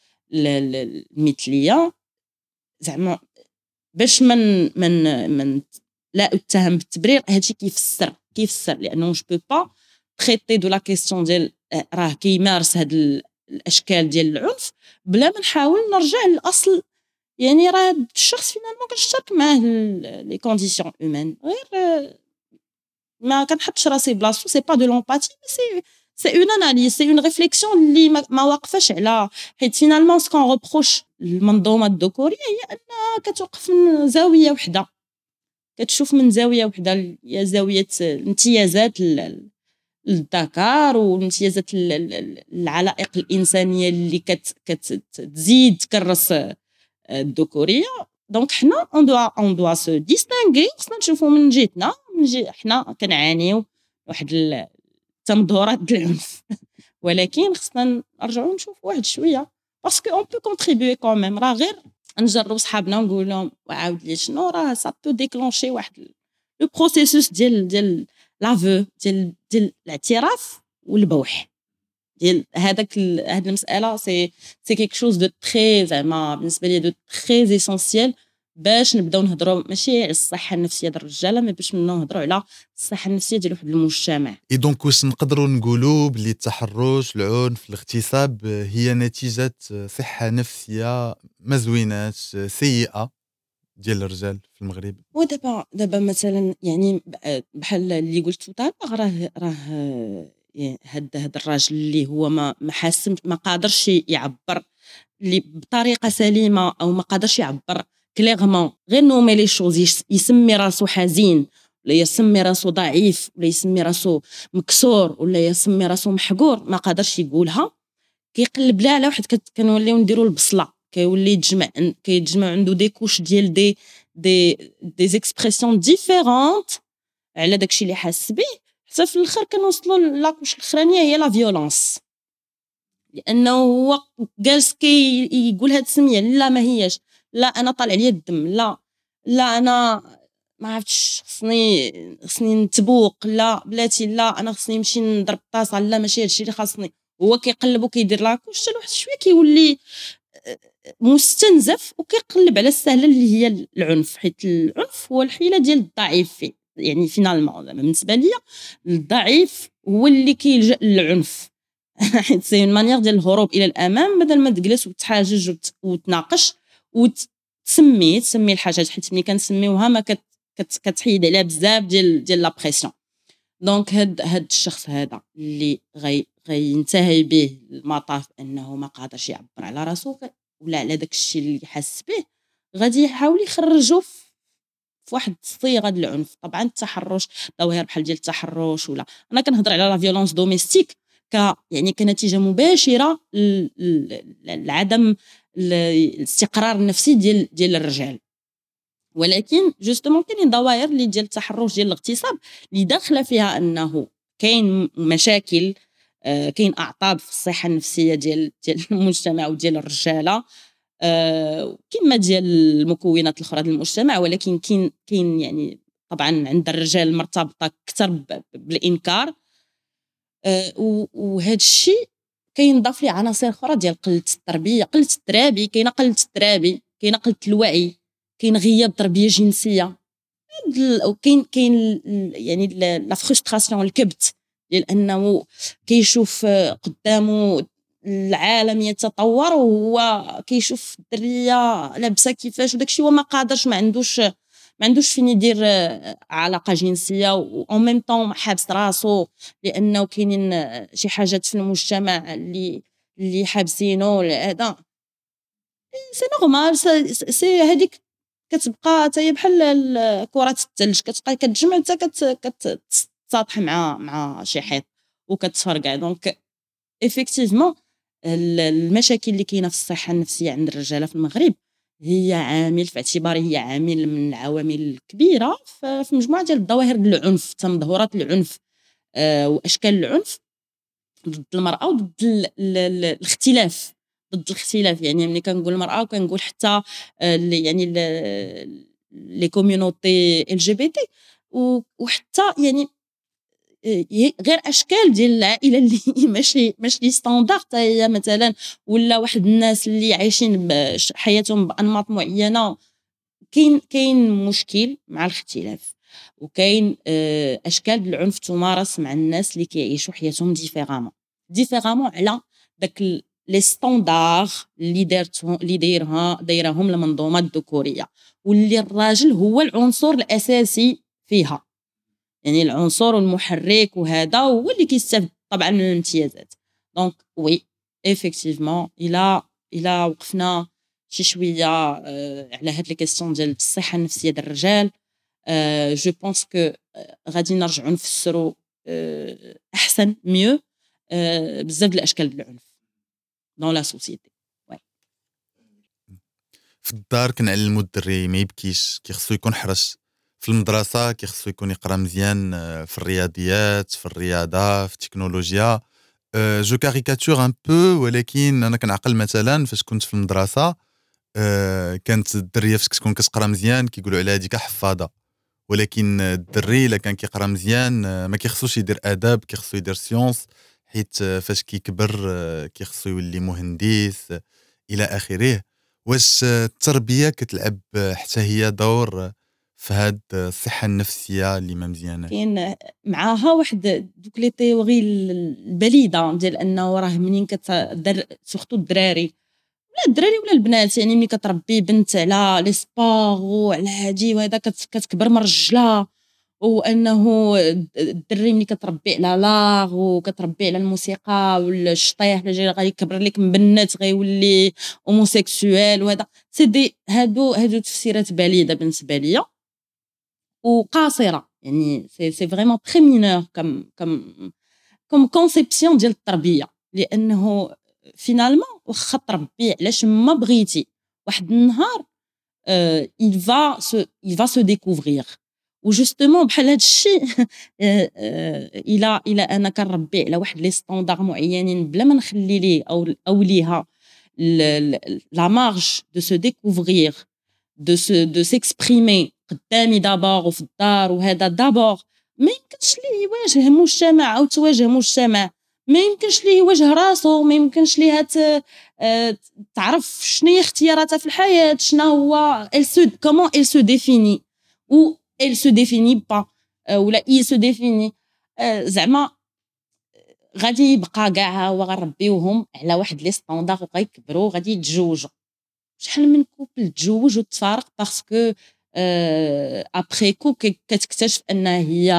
المثليه زعما باش من من من لا اتهم بالتبرير هادشي كيفسر كيفسر لانه جو بو با تريتي دو لا كيسيون ديال راه كيمارس هاد الاشكال ديال العنف بلا ما نحاول نرجع للاصل يعني راه الشخص فينالمون كنشترك معاه لي كونديسيون هومان غير ما كنحطش راسي بلاصتو سي با دو لومباتي سي سي اون اناليز سي اون ريفليكسيون اللي ما واقفاش على حيت فينالمون سكون روبروش المنظومه الذكوريه هي انها كتوقف من زاويه وحده كتشوف من زاويه وحده هي زاويه الامتيازات الذكر والامتيازات العلائق الانسانيه اللي كتزيد تكرس الذكوريه دونك حنا اون دوا اون دوا سو ديستانغي خصنا نشوفوا من جهتنا من جهه حنا كنعانيو واحد التمظهرات ديال العنف ولكن خصنا نرجعوا نشوفوا واحد شويه باسكو اون بو كونتريبيي كوميم راه غير نجربوا صحابنا ونقول لهم وعاود لي شنو راه سا بو ديكلونشي واحد لو بروسيسوس ديال ديال لافو ديال ديال الاعتراف والبوح ديال هذاك هاد المساله سي سي كيك شوز دو تري زعما بالنسبه لي دو تري اسونسيال باش نبداو نهضروا ماشي على الصحه النفسيه ديال الرجاله مي باش نهضروا على الصحه النفسيه ديال واحد المجتمع. اي دونك واش نقدروا نقولوا بلي التحرش العنف الاغتصاب هي نتيجه صحه نفسيه ما زويناش سيئه ديال الرجال في المغرب؟ ودابا دابا مثلا يعني بحال اللي قلت طالع راه راه هاد هاد الراجل اللي هو ما ما حاسم ما قادرش يعبر اللي بطريقه سليمه او ما قادرش يعبر كليرمون غير نومي لي شوز يسمي راسو حزين ولا يسمي راسو ضعيف ولا يسمي راسو مكسور ولا يسمي راسو محقور ما قادرش يقولها كيقلب لها على واحد كنوليو نديروا البصله كيولي يتجمع كيتجمع عنده دي كوش ديال دي دي دي اكسبرسيون ديفيرونت على داكشي اللي حاس به حتى في الاخر كنوصلوا لاكوش الاخرانيه هي لا فيولونس لانه هو جالس كي يقول هاد السميه لا ما هياش لا انا طالع لي الدم لا لا انا ما عرفتش خصني خصني نتبوق لا بلاتي لا انا خصني نمشي نضرب طاسه لا ماشي هادشي اللي خاصني هو كيقلب وكيدير لاكوش حتى لواحد شويه كيولي مستنزف وكيقلب على السهله اللي هي العنف حيت العنف هو الحيله ديال الضعيف يعني فينالمون بالنسبه لي الضعيف هو اللي كيلجا للعنف حيت سي اون مانيير ديال الهروب الى الامام بدل ما تجلس وتحاجج وتناقش وتسمي تسمي الحاجات حيت ملي كنسميوها ما كت كتحيد عليها بزاف ديال ديال لا بريسيون دونك هاد هاد الشخص هذا اللي غي غينتهي به المطاف انه ما قادرش يعبر على راسو ولا على داك الشيء اللي حس به غادي يحاول يخرجوا في واحد الصيغه ديال العنف طبعا التحرش ظواهر بحال ديال التحرش ولا انا كنهضر على لا فيولونس دوميستيك ك يعني كنتيجه مباشره لعدم الاستقرار النفسي ديال ديال الرجال ولكن جوستومون كاينين ظواهر اللي ديال التحرش ديال الاغتصاب اللي داخله فيها انه كاين مشاكل آه كاين اعطاب في الصحه النفسيه ديال ديال المجتمع وديال الرجاله آه كما ديال المكونات الاخرى ديال المجتمع ولكن كاين كاين يعني طبعا عند الرجال مرتبطه اكثر بالانكار آه وهذا الشيء كينضاف ليه عناصر اخرى ديال قله التربيه قله الترابي كاينه قله الترابي كاينه قله الوعي كاين غياب تربيه جنسيه وكاين كاين يعني لا فرستراسيون الكبت ديال انه كيشوف قدامه العالم يتطور وهو كيشوف الدريه لابسه كيفاش وداكشي هو ما قادرش ما عندوش ما عندوش فين يدير علاقه جنسيه و ميم طون حابس راسو لانه كاينين شي حاجات في المجتمع اللي اللي حابسينه هذا سي نورمال سي هذيك كتبقى حتى هي بحال كره الثلج كتبقى كتجمع حتى كتسطح مع مع شي حيط وكتفرقع. دونك ايفيكتيفمون المشاكل اللي كاينه في الصحه النفسيه عند الرجاله في المغرب هي عامل في اعتباري هي عامل من العوامل الكبيره في مجموعه ديال الظواهر العنف تمظهرات العنف أه واشكال العنف ضد المراه وضد الاختلاف ضد الاختلاف. يعني ملي كنقول المراه وكنقول حتى يعني لي كوميونيتي ال جي بي تي وحتى يعني غير اشكال ديال العائله اللي ماشي ماشي ستاندارد حتى هي مثلا ولا واحد الناس اللي عايشين حياتهم بانماط معينه. كاين كاين مشكل مع الاختلاف وكاين اشكال العنف تمارس مع الناس اللي كيعيشوا حياتهم ديفيرامون ديفيرامون على داك لي ستاندار اللي دارتهم اللي دايرها دايرهم المنظومه الذكوريه واللي الراجل هو العنصر الاساسي فيها. يعني العنصر المحرك وهذا هو اللي كيستافد طبعا من الامتيازات. دونك وي ايفيكتيفمون الى الى وقفنا شي شويه آه على هاد لي كيسيون ديال الصحه النفسيه ديال الرجال آه جو بونس كو غادي نرجعوا نفسروا آه احسن ميو آه بزاف ديال الاشكال ديال العنف دون لا سوسيتي. في الدار كنعلموا الدري ما يبكيش كيخصو يكون حرص. في المدرسه كيخصو يكون يقرا مزيان في الرياضيات في الرياضه في التكنولوجيا. أه جو كاريكاتور ان بو ولكن انا كنعقل مثلا فاش كنت في المدرسه أه كانت الدريه فاش كتكون كتقرا مزيان كيقولوا عليها هذيك حفاظه. ولكن الدري الا كان كيقرا مزيان ما كيخصوش يدير اداب كيخصو يدير سيونس حيت فاش كيكبر كيخصو يولي مهندس الى اخره. واش التربيه كتلعب حتى هي دور في هاد الصحه النفسيه اللي ما مزيانه؟ كاين معاها واحد دوك لي تيوري البليده ديال انه راه منين كتدر سورتو الدراري ولا الدراري ولا البنات يعني ملي كتربي بنت على لي سبور وعلى هادي وهذا كتكبر من رجلها. وانه الدري ملي كتربي على لاغ وكتربي على الموسيقى والشطيح اللي غادي يكبر لك مبنت غيولي هوموسيكسوال وهذا سي دي هادو هادو تفسيرات باليده بالنسبه ليا وقاصره. يعني سي سي فريمون تري مينور كم كم كم كونسيبسيون ديال التربيه لانه فينالمون واخا تربي علاش ما بغيتي واحد النهار il va se il va se découvrir وجوستومون بحال هذا الشيء الى الى انا كنربي على واحد لي ستاندار معينين بلا ما نخلي ليه او او ليها لا مارج دو سو ديكوفرير دو سو دو سيكسبريمي قدامي دابور وفي الدار وهذا دابور ما يمكنش ليه يواجه مجتمع او تواجه مجتمع ما يمكنش ليه يواجه راسو ما يمكنش ليه تعرف شنو هي اختياراتها في الحياه شنو هو elle se comment elle se définit ou elle se définit pas ولا il se définit زعما غادي يبقى كاع هو غنربيوهم على واحد لي ستاندار وغيكبروا غادي يتزوجوا. شحال من كوبل تزوج وتفارق باسكو ابري كو كتكتشف ان هي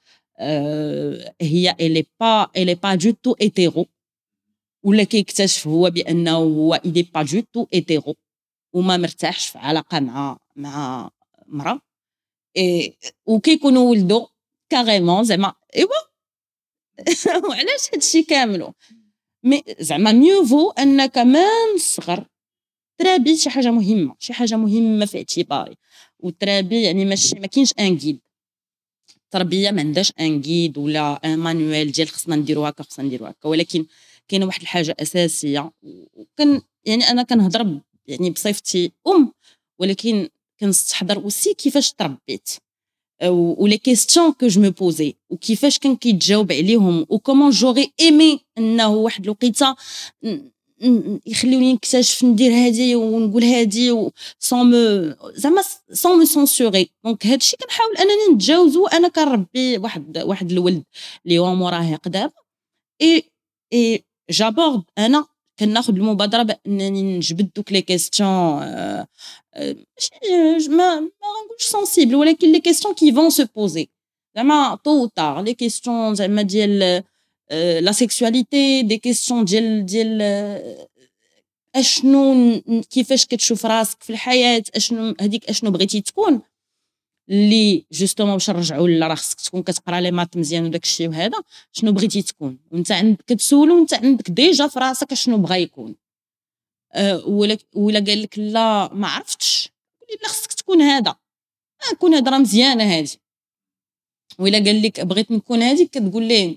هي الي با الي با دو تو ايتيرو ولا كيكتشف هو بانه هو الي با دو تو ايتيرو وما مرتاحش في علاقه مع مع مراه اي وكيكونوا ولدوا كاريمون زعما ايوا وعلاش هادشي كاملو مي زعما ميو فو انك من الصغر ترابي شي حاجه مهمه شي حاجه مهمه في اعتباري. والترابي يعني ماشي ما كاينش ان جيد التربيه ما عندهاش ان جيد ولا ان مانوال ديال خصنا نديرو هكا خصنا نديرو هكا ولكن كاينه واحد الحاجه اساسيه وكان يعني انا كنهضر يعني بصفتي ام ولكن كنستحضر اوسي كيفاش تربيت ou les questions que je me posais وكيفاش كان كيتجاوب عليهم و comment j'aurais aimé انه واحد الوقيته يخليوني نكتشف ندير هذه ونقول هذه sans me زعما sans me censurer. دونك هادشي كنحاول انني نتجاوزو انا كنربي واحد واحد الولد اللي هو مراهق دابا اي اي جابورد انا كناخذ المبادره بانني نجبد دوك لي كيسيون ما ما غنقولش سنسيبل ولكن لي كيسيون كي فون سو بوزي زعما طو طار لي كيسيون زعما ديال لا سيكسواليتي دي كيسيون ديال ديال اشنو ن- كيفاش كتشوف راسك في الحياه، اشنو هذيك اشنو بغيتي تكون، اللي جوستومون باش نرجعوا لا راه خصك تكون كتقرا لي مات مزيان وداك الشيء وهذا، شنو بغيتي تكون وانت عندك كتسولو وانت عندك ديجا في راسك شنو بغا يكون. أه ولا ولا قال لك لا ما عرفتش، قولي لا خصك تكون هذا، آه كون هذا راه مزيانه هذه. ولا قال لك بغيت نكون هذه كتقول ليه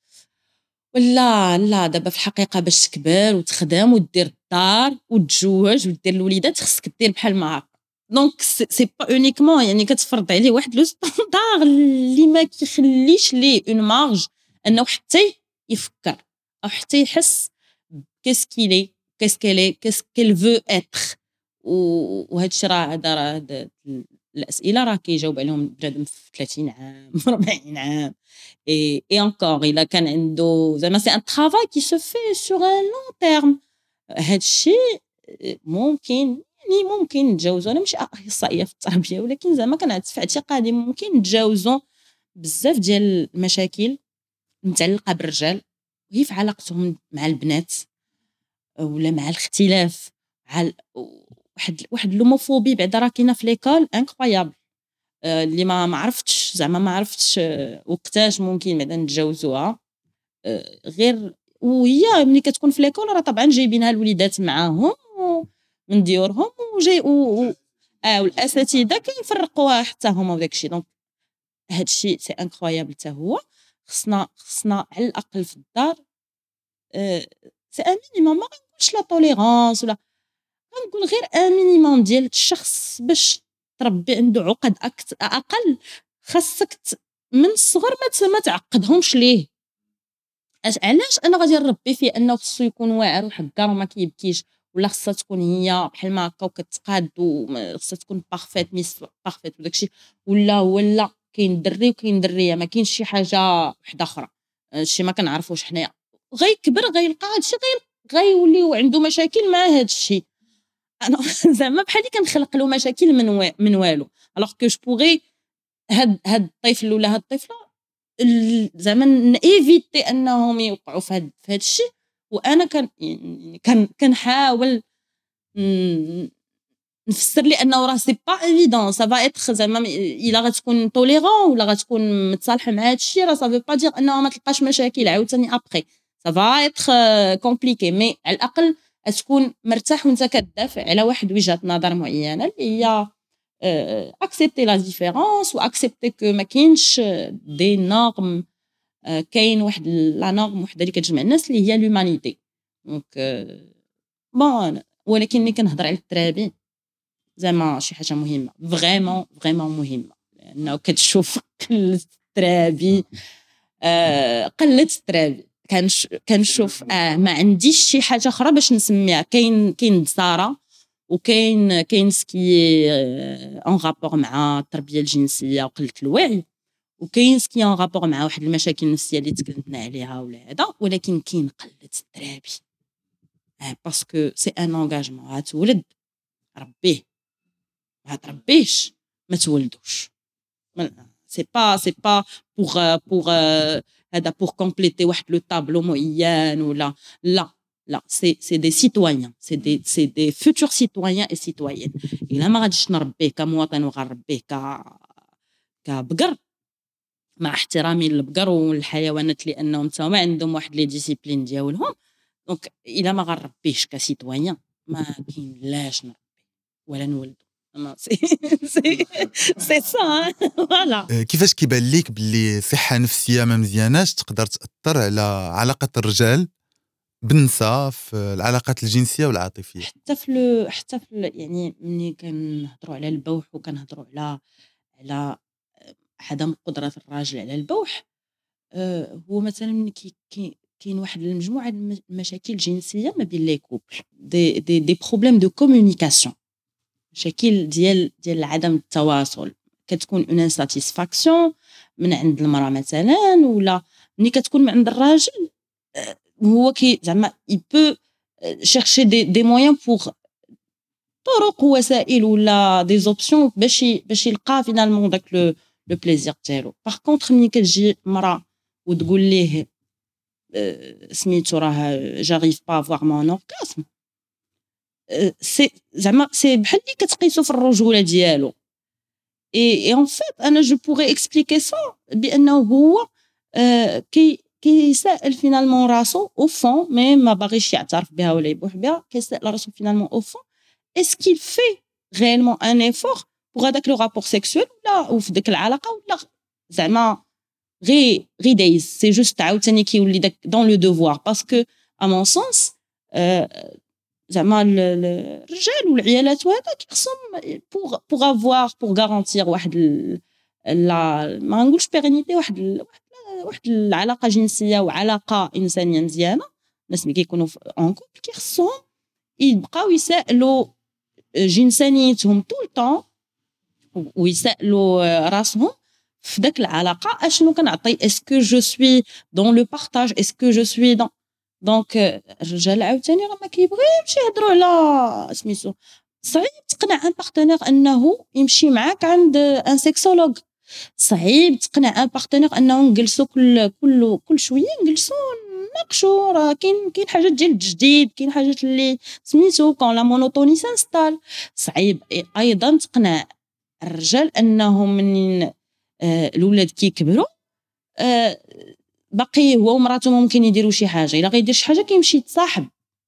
ولا لا دابا في الحقيقه باش تكبر وتخدم ودير الدار وتتزوج ودير الوليدات خصك دير بحال ما هكا. دونك سي با اونيكمون يعني كتفرض عليه واحد لو ستاندار اللي ما كيخليش ليه اون مارج انه حتى يفكر او حتى يحس كيس كيلي كيس كيلي كيس كيل فو اتر. وهذا الشيء راه هذا راه هاد الاسئله راه كيجاوب عليهم بنادم في ثلاثين عام أربعين عام. اي اي انكور الا كان عنده زعما سي ان ترافاي كي سو في سور ان لون تيرم. هذا الشيء ممكن يعني ممكن نتجاوزو. انا ماشي اخصائيه في التربيه ولكن زعما كنعرف في اعتقادي ممكن نتجاوزو بزاف ديال المشاكل متعلقه بالرجال وهي في علاقتهم مع البنات ولا مع الاختلاف على واحد واحد لوموفوبي بعدا راه كاينه في ليكول انكرويابل اللي ما ما عرفتش زعما ما عرفتش وقتاش ممكن بعدا نتجاوزوها. غير وهي ملي كتكون في ليكول راه طبعا جايبينها الوليدات معاهم من ديورهم وجاي و... اه والاساتذه كيفرقوها حتى هما وداك الشيء. دونك هذا الشيء سي انكرويابل حتى هو. خصنا خصنا على الاقل في الدار أه سي ان مينيموم ما غنقولش لا توليرانس ولا غنقول غير ان مينيموم ديال الشخص باش تربي عنده عقد أكت... اقل. خاصك ت... من الصغر ما ما تعقدهمش ليه. اش علاش انا غادي نربي فيه انه خصو يكون واعر وحكار وما كيبكيش ولا خصها تكون هي بحال ما هكا وكتقاد وخصها تكون بارفيت ميس بارفيت وداكشي ولا ولا كاين دري وكاين دريه ما كاينش شي حاجه وحده اخرى. هادشي ما كنعرفوش حنايا. غيكبر غيلقى هادشي غير غيولي عنده مشاكل مع هادشي. انا زعما بحالي كنخلق له مشاكل من و... من والو الوغ كو جو بوغي هاد هاد الطفل ولا هاد الطفله زعما نيفيتي انهم يوقعوا في هاد في هاد الشيء. وانا كان يعني كان كنحاول نفسر لي انه راه سي با ايفيدون سا فا اتر زعما الا غتكون توليرون ولا غتكون متصالحه مع هاد الشيء راه سا فو با دير انه ما تلقاش مشاكل عاوتاني ابخي سا فا اتر كومبليكي. مي على الاقل تكون مرتاح وانت كتدافع على واحد وجهه نظر معينه اللي هي اكسبتي لا ديفيرونس واكسبتي كو ما كاينش دي نورم. كاين واحد لا نورم وحده اللي كتجمع الناس اللي هي لومانيتي. دونك بون ولكن ملي كنهضر على الترابي زعما شي حاجه مهمه فريمون فريمون مهمه لانه كتشوف قله الترابي آه قله الترابي كنش كنشوف اه ما عنديش شي حاجه اخرى باش نسميها. كاين كاين دساره وكاين كاين سكي اون رابور مع التربيه الجنسيه وقله الوعي وكاين سكي اون رابور مع واحد المشاكل النفسيه اللي تكلمنا عليها ولا هذا. ولكن كاين قله الترابي اه باسكو سي ان انغاجمون. غتولد ربيه ما تربيش ما تولدوش. سي با سي با بوغ بوغ هذا بوغ كومبليتي واحد لو طابلو معين ولا لا لا سي سي دي سيتويان سي دي سي دي فوتور سيتويان اي سيتويان. الا ما غاديش نربيه كمواطن وغنربيه ك كبقر مع احترامي للبقر والحيوانات لانهم تما عندهم واحد لي ديسيبلين ديالهم. دونك الا ما غنربيش كسيتويان ما كاين لاش نربي ولا نولد. سي سي سي سا فوالا. كيفاش كيبان ليك باللي صحه نفسيه ما مزياناش تقدر تاثر على علاقه الرجال بالنساء في العلاقات الجنسيه والعاطفيه؟ حتى في حتى في يعني ملي كنهضروا على البوح وكنهضروا على على عدم قدره الراجل على البوح أه هو مثلا ملي كي كاين واحد المجموعه المشاكل جنسيه ما بين لي كوبل دي دي دي بروبليم دو كومونيكاسيون مشاكل ديال ديال عدم التواصل. كتكون اون انساتيسفاكسيون من عند المراه مثلا ولا ملي كتكون من عند الراجل هو كي زعما il peut chercher des des moyens pour طرق وسائل ولا دي زوبسيون باش باش يلقى فينالمون داك لو لو بليزير ديالو. باغ كونطخ ملي كتجي مراه وتقول ليه سميتو راه جاريف با افوار مون اورغاسم سي زعما سي بحال اللي كتقيسو في الرجوله ديالو. اي ان فيت انا جو بوغي اكسبليكي سا بانه هو كي كيسائل فينالمون راسو او فون مي ما باغيش يعترف بها ولا يبوح بها. كيسائل راسو فينالمون او فون est-ce qu'il fait réellement un effort pour هذاك لو رابور سيكسويل ولا وفي ديك العلاقه ولا زعما غي غي دايز سي جوست عاوتاني كيولي داك دون لو دوفوار. باسكو ا مون سونس زعما الرجال والعيالات وهذا كيخصهم بوغ بوغ افوار بوغ غارانتير واحد لا ما نقولش بيرينيتي واحد واحد واحد العلاقه جنسيه وعلاقه انسانيه مزيانه. الناس ملي كيكونوا اون كوبل كيخصهم يبقاو يسالوا جنسانيتهم طول طون ويسالوا راسهم في داك العلاقه اشنو كنعطي. اسكو جو سوي دون لو بارطاج اسكو جو سوي دون دونك الرجال عاوتاني راه ما كيبغيوش يهضروا على سميتو. صعيب تقنع ان بارتنير انه يمشي معاك عند ان سيكسولوج. صعيب تقنع ان بارتنير انه نجلسوا كل كل كل شويه نجلسوا ناقشوا. راه كاين كاين حاجات ديال الجديد كاين حاجات اللي سميتو كون لا مونوتوني سانستال. صعيب ايضا تقنع الرجال انه من آه الاولاد كيكبروا آه باقي هو ومراته ممكن يديروا شي حاجه. الا غيدير شي حاجه كيمشي يتصاحب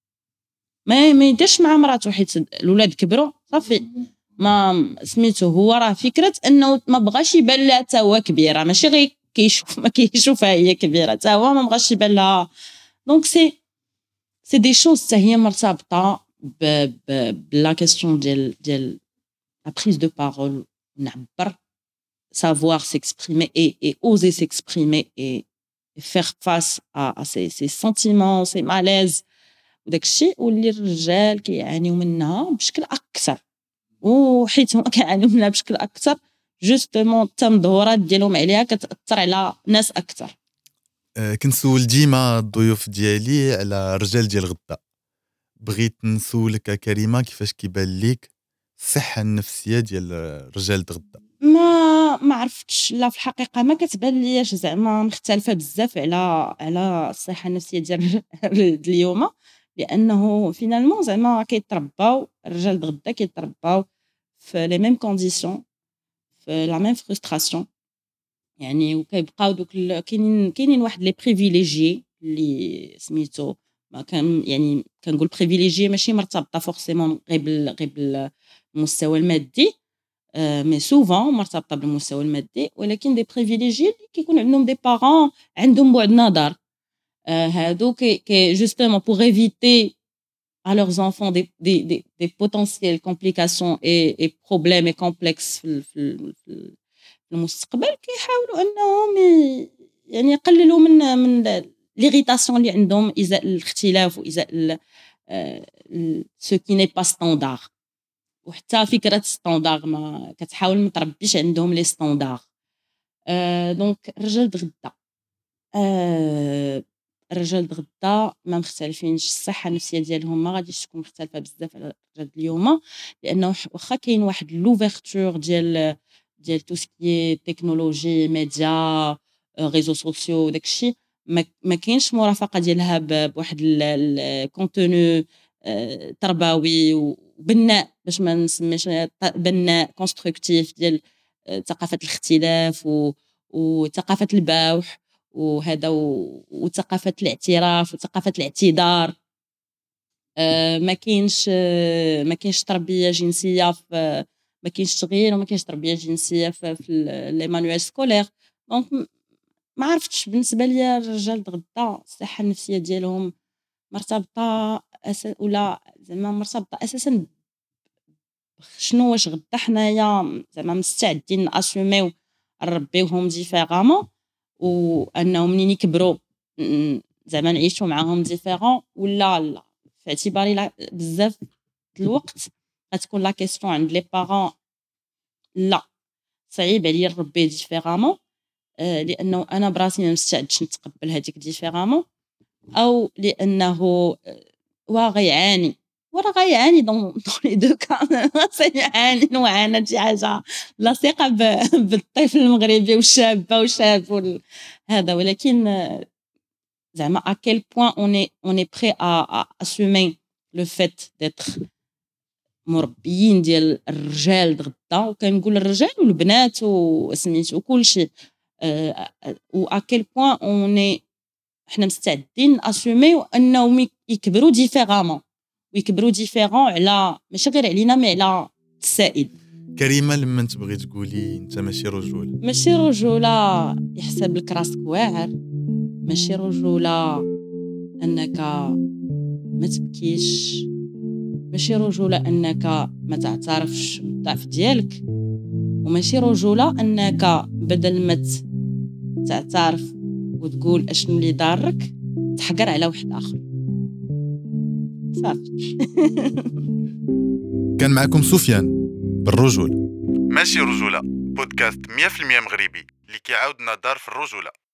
ما ما يديرش مع مراته حيت الاولاد كبروا صافي ما سميتو. هو راه فكره انه ما بغاش يبان لها حتى هو كبيره ماشي غير كيشوف ما كيشوفها هي كبيره حتى هو ما بغاش يبان لها. دونك سي سي دي شوز حتى هي مرتبطه ب بلا كيسيون ديال ديال لا بريز دو بارول. نعبر savoir s'exprimer et, et oser s'exprimer et, et faire face à, à ces, ces sentiments, ces malaises وداك الشيء واللي الرجال كيعانيو منها بشكل اكثر وحيت هما كيعانيو منها بشكل اكثر جوستومون التمظهرات ديالهم عليها كتاثر على ناس اكثر. أه كنسول ديما الضيوف ديالي على الرجال ديال غدا. بغيت نسولك كريمه كيفاش كيبان ليك الصحه النفسيه ديال الرجال غدا؟ ما ما عرفتش لا في الحقيقه ما كتبان لياش زعما مختلفه بزاف على على الصحه النفسيه ديال اليوم لانه فينالمون زعما كيترباو الرجال غدا كيترباو في لي ميم كونديسيون في لا ميم فرستراسيون يعني وكيبقاو دوك كاينين كاينين واحد لي بريفيليجي اللي سميتو ما كان يعني كنقول بريفيليجي ماشي مرتبطه فورسيمون غير بال غير بالمستوى المادي مي سوفون مرتبطه بالمستوى المادي ولكن دي بريفيليجي اللي كيكون عندهم دي بارون عندهم بعد نظر هادو كي جوستومون بور ايفيتي à leurs enfants des des des des potentielles complications et et problèmes et complexes في في المستقبل كيحاولوا انهم يعني يقللوا من من ليغيتاسيون اللي عندهم ازاء الاختلاف وازاء سو كي ني با ستاندار. وحتى فكره ستاندار ما كتحاول ما تربيش عندهم لي ستاندار. دونك الرجال غدا الرجال غدا ما مختلفينش. الصحه النفسيه ديالهم ما غاديش تكون مختلفه بزاف على الرجال اليوم لانه واخا كاين واحد لوفيرتور ديال ديال تو سكي تكنولوجي ميديا ريزو سوسيو داكشي ما كاينش مرافقه ديالها بواحد الكونتوني تربوي وبناء باش ما نسميش بناء كونستركتيف ديال ثقافه الاختلاف وثقافه البوح وهذا وثقافه الاعتراف وثقافه الاعتذار. ما كاينش ما كاينش تربيه جنسيه في ما كاينش تغيير وما كاينش تربيه جنسيه في, في لي مانوال سكولير. دونك ما عرفتش بالنسبه ليا الرجال غدا الصحه النفسيه ديالهم مرتبطه أس... ولا زعما مرتبطه اساسا شنو واش غدا حنايا زعما مستعدين ناسوميو نربيوهم ديفيرامون وانهم منين يكبروا زعما نعيشوا معاهم ديفيرون ولا لا. في اعتباري بزاف الوقت غتكون لا كيسيون عند لي بارون لا صعيب عليا نربي ديفيرامون لانه انا براسي ما مستعدش نتقبل هذيك ديفيرامون او لانه وا غيعاني وراه غيعاني دون لي دو كان سيعاني وعانى شي حاجه لاصقه بالطفل المغربي والشابه والشاب هذا. ولكن زعما à quel point on est on est prêt à, à assumer le fait d'être مربيين ديال الرجال غدا، وكنقول الرجال والبنات وسميتو وكل شيء و ا كيل بوين اون حنا مستعدين اسوميو انهم يكبروا ديفيرامون ويكبروا ديفيرون على ماشي غير علينا مي على السائد. كريمه لما تبغي تقولي انت ماشي رجوله، ماشي رجوله يحسب لك راسك واعر، ماشي رجوله انك ما تبكيش، ماشي رجوله انك ما تعترفش بالضعف ديالك، وماشي رجوله انك بدل ما تعترف وتقول اشنو اللي ضارك تحقر على واحد اخر. صافي. كان معكم سفيان بالرجوله ماشي رجولة، بودكاست مية في المية مغربي اللي كيعاود نظر في الرجولة.